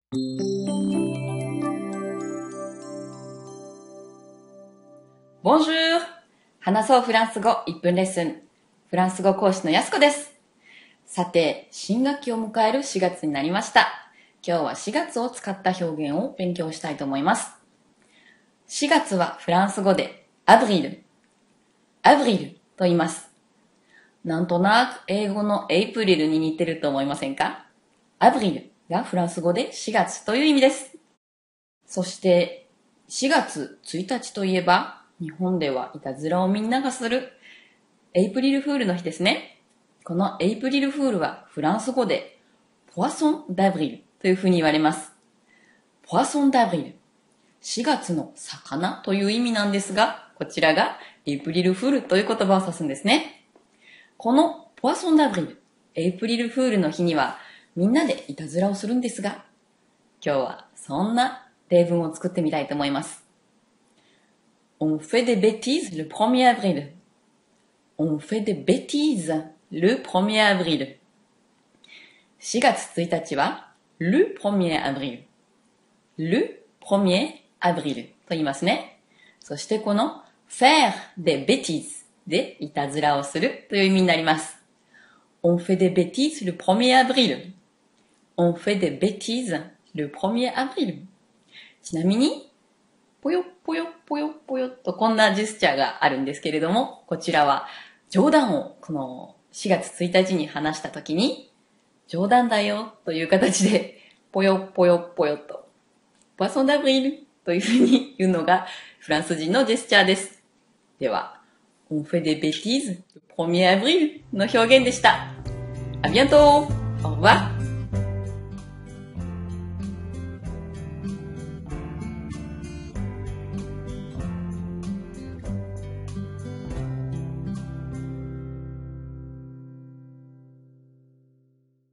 Bonjour! 話そうフランス語1分レッスン。フランス語講師のやすこです。さて、新学期を迎える4月になりました。今日は4月を使った表現を勉強したいと思います。4月はフランス語でアブリルと言います。なんとなく英語のエイプリルに似てると思いませんか？アブリルがフランス語で4月という意味です。そして4月1日といえば日本ではいたずらをみんながするエイプリルフールの日ですね。このエイプリルフールはフランス語でポワソンダブリルというふうに言われます。ポワソンダブリル。4月の魚という意味なんですが、こちらがエイプリルフールという言葉を指すんですね。このポワソンダブリル、エイプリルフールの日にはみんなでいたずらをするんですが、今日はそんな例文を作ってみたいと思います。On fait des bêtises le 1er avril. On fait des bêtises le 1er avril. 4月1日は le 1er avril. le 1er avril と言いますね。そしてこの faire des bêtises でいたずらをするという意味になります。On fait des bêtises le 1er avril. On fait des bêtises le 1er avril. ちなみにぽよぽよぽよぽよとこんなジェスチャーがあるんですけれども、こちらは冗談をこの4月1日に話したときに、冗談だよという形でぽよぽよぽよとポワソンダブリルというふうに言うのがフランス人のジェスチャーです。では、on fait des bêtises le 1er avril の表現でした。À bientôt! Au revoir!